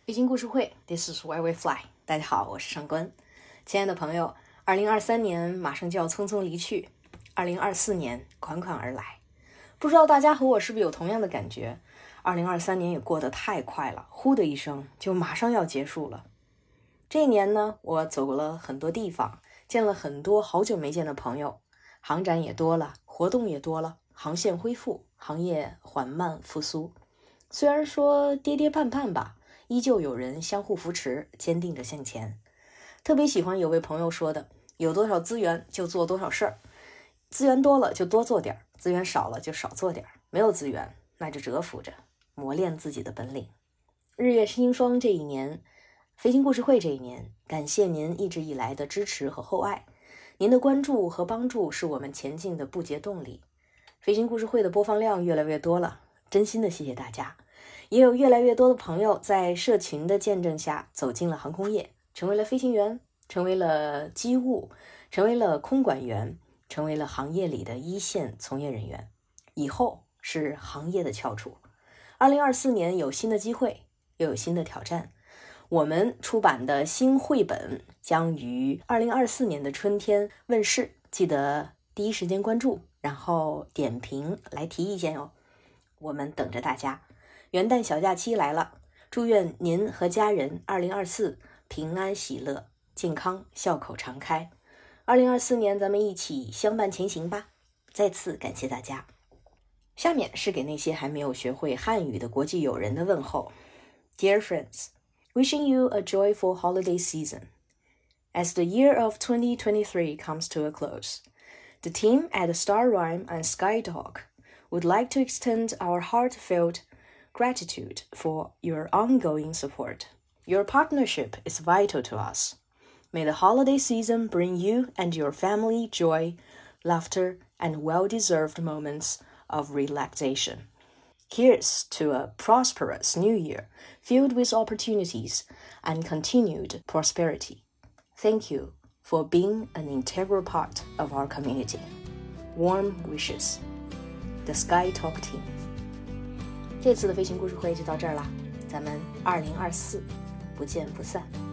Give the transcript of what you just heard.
飞行故事会 This is where we fly。 大家好，我是上官。亲爱的朋友，2023年马上就要匆匆离去，2024年款款而来。不知道大家和我是不是有同样的感觉，2023年也过得太快了，呼的一声就马上要结束了。这一年呢，我走了很多地方，见了很多好久没见的朋友，航展也多了，活动也多了，航线恢复，行业缓慢复苏。虽然说跌跌绊绊吧，依旧有人相互扶持，坚定着向前。特别喜欢有位朋友说的，有多少资源就做多少事儿，资源多了就多做点，资源少了就少做点，没有资源那就蛰伏着，磨练自己的本领。日月星霜这一年，飞行故事会这一年，感谢您一直以来的支持和厚爱，您的关注和帮助是我们前进的不竭动力。飞行故事会的播放量越来越多了，真心的谢谢大家。也有越来越多的朋友在社群的见证下走进了航空业，成为了飞行员，成为了机务，成为了空管员，成为了行业里的一线从业人员。以后是行业的翘楚。2024年有新的机会，又有新的挑战。我们出版的新绘本将于2024年的春天问世，记得第一时间关注，然后点评来提意见哦。我们等着大家。元旦小假期来了，祝愿您和家人2024平安喜乐，健康笑口常开。2024年咱们一起相伴前行吧。再次感谢大家。下面是给那些还没有学会汉语的国际友人的问候。 Dear friends, wishing you a joyful holiday season. As the year of 2023 comes to a close, the team at Star Rhyme and SkyTalk would like to extend our heartfelt gratitude for your ongoing support. Your partnership is vital to us. May the holiday season bring you and your family joy, laughter, and well-deserved moments of relaxation. Here's to a prosperous new year filled with opportunities and continued prosperity. Thank you for being an integral part of our community. Warm wishes. The SkyTalk team. 这次的飞行故事会就到这儿啦，咱们2024不见不散。